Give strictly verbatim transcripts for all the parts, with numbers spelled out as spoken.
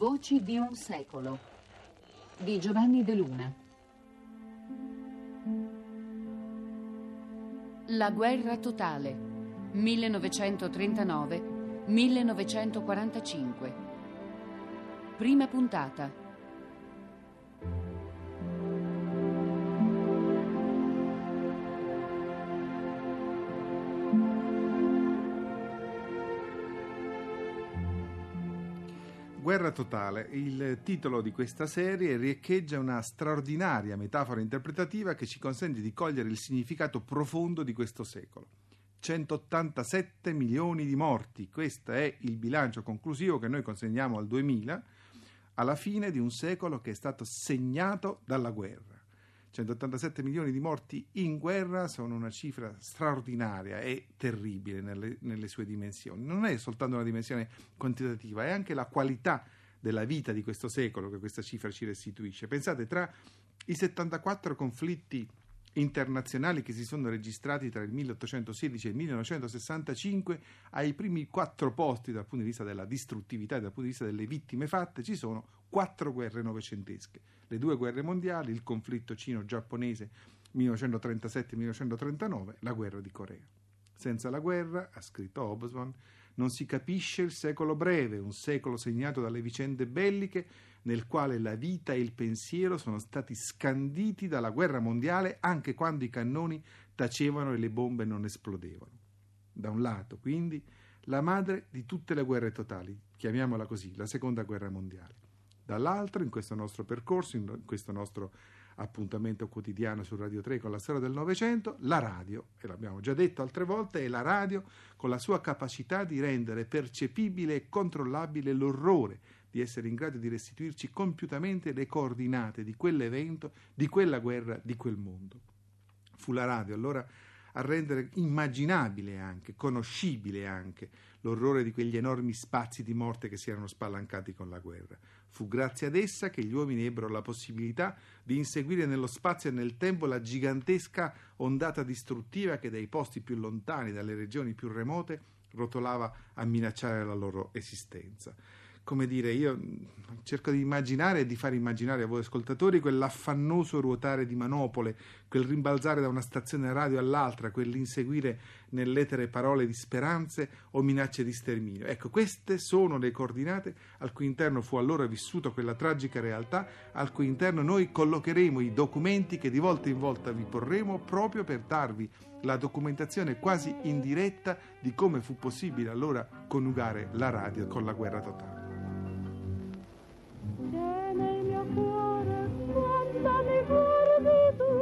Voci di un secolo di Giovanni De Luna. La guerra totale millenovecentotrentanove millenovecentoquarantacinque. Prima puntata. Guerra totale, il titolo di questa serie riecheggia una straordinaria metafora interpretativa che ci consente di cogliere il significato profondo di questo secolo. centottantasette milioni di morti, questo è il bilancio conclusivo che noi consegniamo al duemila, alla fine di un secolo che è stato segnato dalla guerra. centottantasette milioni di morti in guerra sono una cifra straordinaria e terribile nelle, nelle sue dimensioni. Non è soltanto una dimensione quantitativa, è anche la qualità della vita di questo secolo che questa cifra ci restituisce. Pensate, tra i settantaquattro conflitti internazionali che si sono registrati tra il milleottocentosedici e il millenovecentosessantacinque, ai primi quattro posti dal punto di vista della distruttività e dal punto di vista delle vittime fatte ci sono quattro guerre novecentesche, le due guerre mondiali, il conflitto cino-giapponese millenovecentotrentasette millenovecentotrentanove, la guerra di Corea. Senza la guerra, ha scritto Hobsbawm, non si capisce il secolo breve, un secolo segnato dalle vicende belliche nel quale la vita e il pensiero sono stati scanditi dalla guerra mondiale anche quando i cannoni tacevano e le bombe non esplodevano. Da un lato, quindi, la madre di tutte le guerre totali, chiamiamola così, la seconda guerra mondiale. Dall'altro, in questo nostro percorso, in questo nostro appuntamento quotidiano su Radio tre con la storia del Novecento, la radio, e l'abbiamo già detto altre volte, è la radio con la sua capacità di rendere percepibile e controllabile l'orrore di essere in grado di restituirci compiutamente le coordinate di quell'evento, di quella guerra, di quel mondo. Fu la radio allora a rendere immaginabile anche, conoscibile anche, l'orrore di quegli enormi spazi di morte che si erano spalancati con la guerra. Fu grazie ad essa che gli uomini ebbero la possibilità di inseguire nello spazio e nel tempo la gigantesca ondata distruttiva che dai posti più lontani, dalle regioni più remote, rotolava a minacciare la loro esistenza. Come dire, io cerco di immaginare e di far immaginare a voi ascoltatori quell'affannoso ruotare di manopole, quel rimbalzare da una stazione radio all'altra, quell'inseguire nell'etere parole di speranze o minacce di sterminio. Ecco, queste sono le coordinate al cui interno fu allora vissuta quella tragica realtà, al cui interno noi collocheremo i documenti che di volta in volta vi porremo proprio per darvi la documentazione quasi indiretta di come fu possibile allora coniugare la radio con la guerra totale. C'è nel mio cuore quanta mi guardi tu.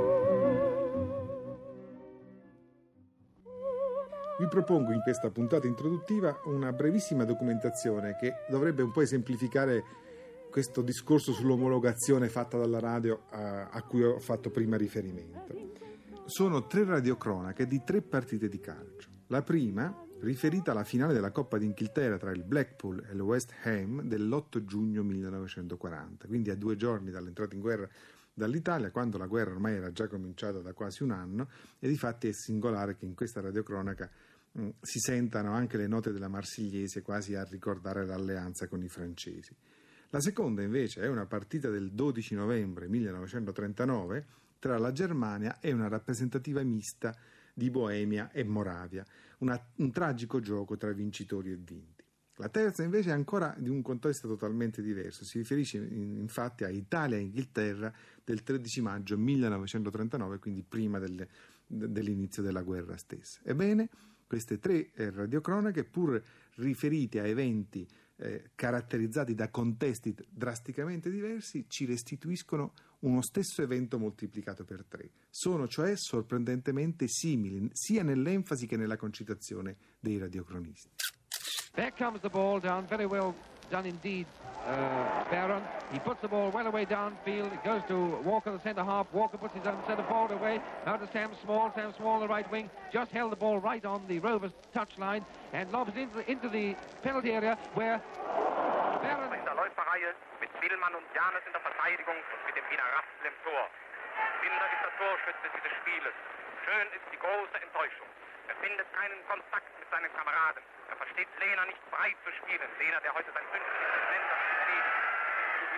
Vi propongo in questa puntata introduttiva una brevissima documentazione che dovrebbe un po' esemplificare questo discorso sull'omologazione fatta dalla radio a, a cui ho fatto prima riferimento. Sono tre radiocronache di tre partite di calcio. La prima riferita alla finale della Coppa d'Inghilterra tra il Blackpool e il West Ham dell'otto giugno millenovecentoquaranta, quindi a due giorni dall'entrata in guerra dall'Italia, quando la guerra ormai era già cominciata da quasi un anno, e difatti è singolare che in questa radiocronaca mh, si sentano anche le note della Marsigliese quasi a ricordare l'alleanza con i francesi. La seconda invece è una partita del dodici novembre millenovecentotrentanove tra la Germania e una rappresentativa mista di Boemia e Moravia, una, un tragico gioco tra vincitori e vinti. La terza invece è ancora di un contesto totalmente diverso, si riferisce infatti a Italia e Inghilterra del tredici maggio millenovecentotrentanove, quindi prima del, dell'inizio della guerra stessa. Ebbene, queste tre eh, radiocronache, pur riferite a eventi eh, caratterizzati da contesti drasticamente diversi, ci restituiscono uno stesso evento moltiplicato per tre. Sono cioè sorprendentemente simili, sia nell'enfasi che nella concitazione dei radiocronisti. There comes the ball down, very well done indeed, uh, Barron. He puts the ball well away downfield. It goes to Walker, the centre half. Walker puts his own centre forward away. Now to Sam Small. Sam Small, the right wing, just held the ball right on the Rovers touchline and lobs it into, into the penalty area where Barron... In der Läuferreihe mit Willmann und Janes in der Verteidigung und mit dem Wiener Rapsel im Tor. Binder ist der Torschütze dieses Spieles. Schön ist die große Enttäuschung. Er findet keinen Kontakt mit seinen Kameraden. Er versteht Lehner nicht frei zu spielen. Lehner, der heute sein fünfzigstes Länderspiel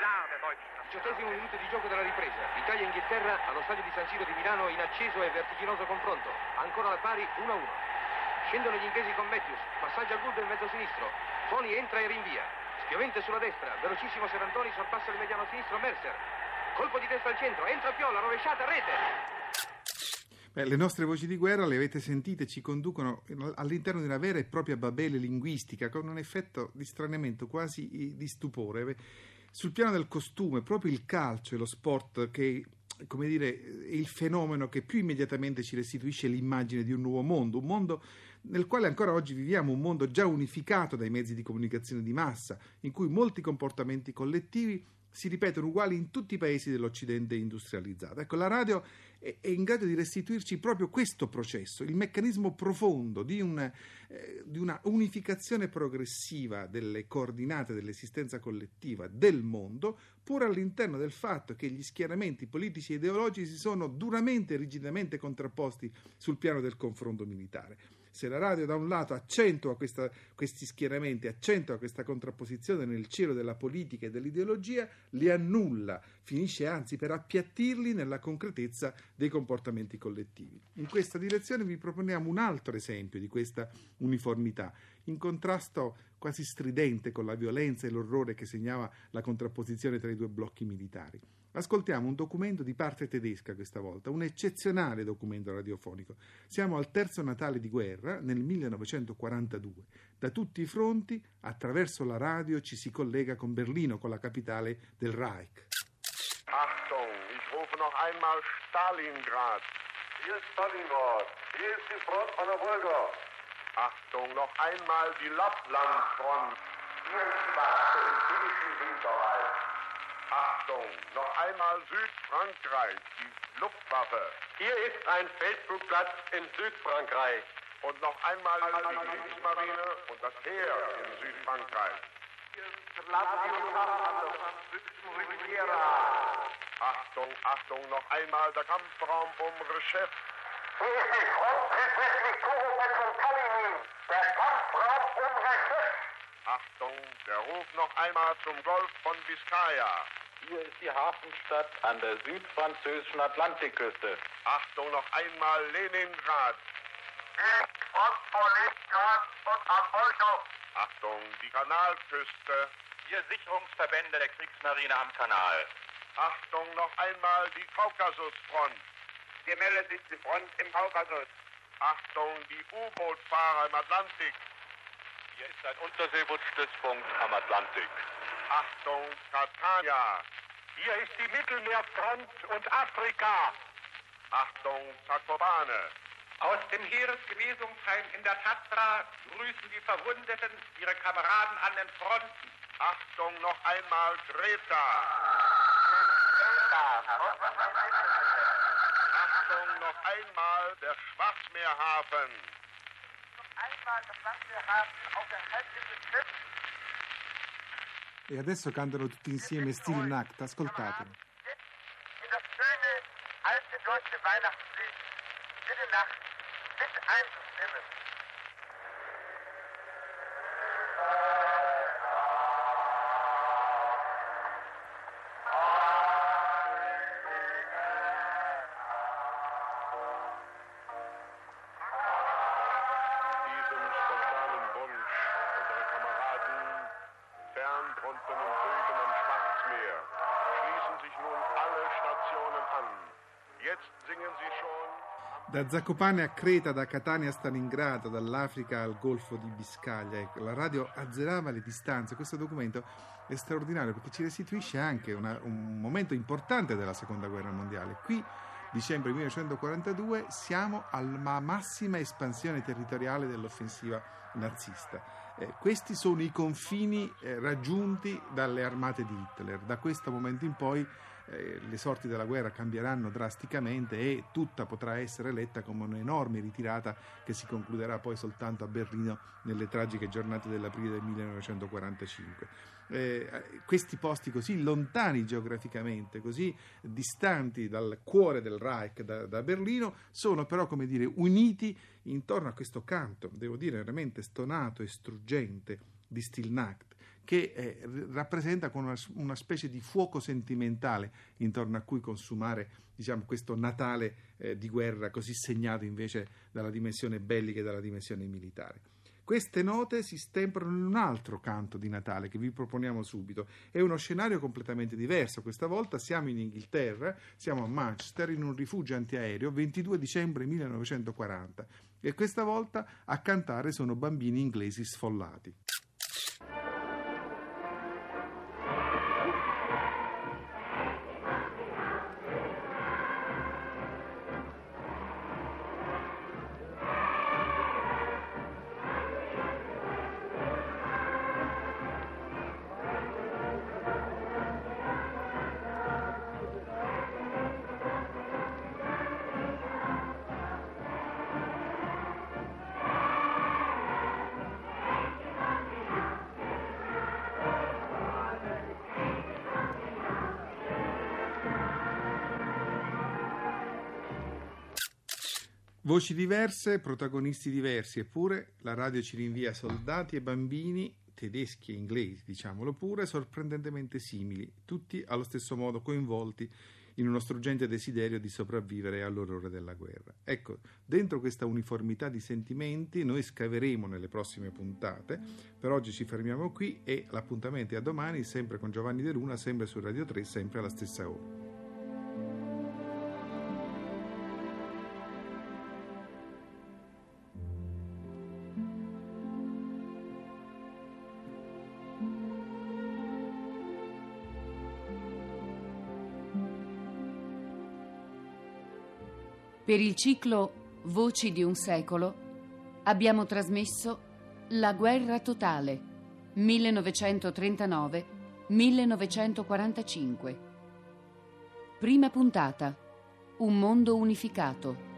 Pilar der deutschen Diciottesimo minuto di gioco della ripresa. Italia-Inghilterra allo stadio di San Siro di Milano in acceso e vertiginoso confronto. Ancora al pari uno a uno. Scendono gli inglesi con Matthews. Passaggio al gol del mezzo sinistro. Toni entra e rinvia. Spiovente sulla destra. Velocissimo Serantoni sorpassa il mediano sinistro Mercer. Colpo di testa al centro. Entra Piola. Rovesciata. Rete. Beh, le nostre voci di guerra, le avete sentite, ci conducono all'interno di una vera e propria Babele linguistica, con un effetto di stranamento, quasi di stupore. Sul piano del costume, proprio il calcio e lo sport, che, come dire, è il fenomeno che più immediatamente ci restituisce l'immagine di un nuovo mondo, un mondo nel quale ancora oggi viviamo, un mondo già unificato dai mezzi di comunicazione di massa, in cui molti comportamenti collettivi si ripetono uguali in tutti i paesi dell'Occidente industrializzato. Ecco, la radio è, è in grado di restituirci proprio questo processo, il meccanismo profondo di, un, eh, di una unificazione progressiva delle coordinate dell'esistenza collettiva del mondo, pur all'interno del fatto che gli schieramenti politici e ideologici si sono duramente e rigidamente contrapposti sul piano del confronto militare. Se la radio da un lato accentua questa, questi schieramenti, accentua questa contrapposizione nel cielo della politica e dell'ideologia, li annulla, finisce anzi per appiattirli nella concretezza dei comportamenti collettivi. In questa direzione vi proponiamo un altro esempio di questa uniformità, in contrasto quasi stridente con la violenza e l'orrore che segnava la contrapposizione tra i due blocchi militari. Ascoltiamo un documento di parte tedesca questa volta, un eccezionale documento radiofonico. Siamo al terzo Natale di guerra, nel millenovecentoquarantadue. Da tutti i fronti, attraverso la radio, ci si collega con Berlino, con la capitale del Reich. Achtung, ich rufe noch einmal Stalingrad. Hier ist Stalingrad. Hier ist die Front an der Wolga. Achtung, noch einmal die Lapplandfront. Hier ist die Wache im finnischen Winterwald. Achtung, noch einmal Südfrankreich, die Luftwaffe. Hier ist ein Feldflugplatz in Südfrankreich. Und noch einmal die Kriegsmarine und das Heer in Südfrankreich. Hier ist Radio an der französischen Riviera. Achtung, Achtung, noch einmal der Kampfraum um Reshef. Hier ist die Front südwestlich Koromet von Kalinin. Der Kampfraum um Reshef. Achtung, der Ruf noch einmal zum Golf von Biskaya. Hier ist die Hafenstadt an der südfranzösischen Atlantikküste. Achtung, noch einmal Leningrad. Hier ist Front vor Leningrad und Apollo. Achtung, die Kanalküste. Hier Sicherungsverbände der Kriegsmarine am Kanal. Achtung, noch einmal die Kaukasusfront. Gemeldet ist die Front im Kaukasus. Achtung, die U-Boot-Fahrer im Atlantik. Hier ist ein Unterseebootsstützpunkt am Atlantik. Achtung, Catania. Hier ist die Mittelmeerfront und Afrika. Achtung, Zakopane. Aus dem Heeresgenesungsheim in der Tatra grüßen die Verwundeten ihre Kameraden an den Fronten. Achtung, noch einmal Greta. Achtung, noch einmal der Schwarzmeerhafen. Noch einmal der Schwarzmeerhafen auf der Halbinsel Schiff. E adesso cantano tutti insieme Stille Nacht, ascoltatelo. In das schöne, alte deutsche Weihnachtslied, Stille Nacht, mit einzustimmen. Diesem spontanen Wunsch unserer Kameraden fern drunten im Süden am Schwarzmeer schließen sich nun alle Stationen an. Jetzt singen sie schon. Da Zakopane a Creta, da Catania a Stalingrado, dall'Africa al Golfo di Biscaglia. Ecco, la radio azzerava le distanze. Questo documento è straordinario perché ci restituisce anche una, un momento importante della Seconda Guerra Mondiale. Qui, dicembre millenovecentoquarantadue, siamo alla massima espansione territoriale dell'offensiva nazista. Eh, questi sono i confini eh, raggiunti dalle armate di Hitler. Da questo momento in poi eh, le sorti della guerra cambieranno drasticamente e tutta potrà essere letta come un'enorme ritirata che si concluderà poi soltanto a Berlino nelle tragiche giornate dell'aprile del millenovecentoquarantacinque. Eh, questi posti così lontani geograficamente, così distanti dal cuore del Reich, da, da Berlino, sono però, come dire, uniti intorno a questo canto, devo dire veramente stonato e struggente, di Stille Nacht, che eh, rappresenta con una, una specie di fuoco sentimentale intorno a cui consumare, diciamo, questo Natale eh, di guerra così segnato invece dalla dimensione bellica e dalla dimensione militare. Queste note si stemprano in un altro canto di Natale che vi proponiamo subito. È uno scenario completamente diverso. Questa volta siamo in Inghilterra, siamo a Manchester, in un rifugio antiaereo, ventidue dicembre millenovecentoquaranta. E questa volta a cantare sono bambini inglesi sfollati. Voci diverse, protagonisti diversi, eppure la radio ci rinvia soldati e bambini, tedeschi e inglesi, diciamolo pure, sorprendentemente simili, tutti allo stesso modo coinvolti in uno struggente desiderio di sopravvivere all'orrore della guerra. Ecco, dentro questa uniformità di sentimenti noi scaveremo nelle prossime puntate. Per oggi ci fermiamo qui e l'appuntamento è a domani, sempre con Giovanni De Luna, sempre su Radio tre, sempre alla stessa ora. Per il ciclo Voci di un secolo abbiamo trasmesso La guerra totale millenovecentotrentanove millenovecentoquarantacinque. Prima puntata: Un mondo unificato.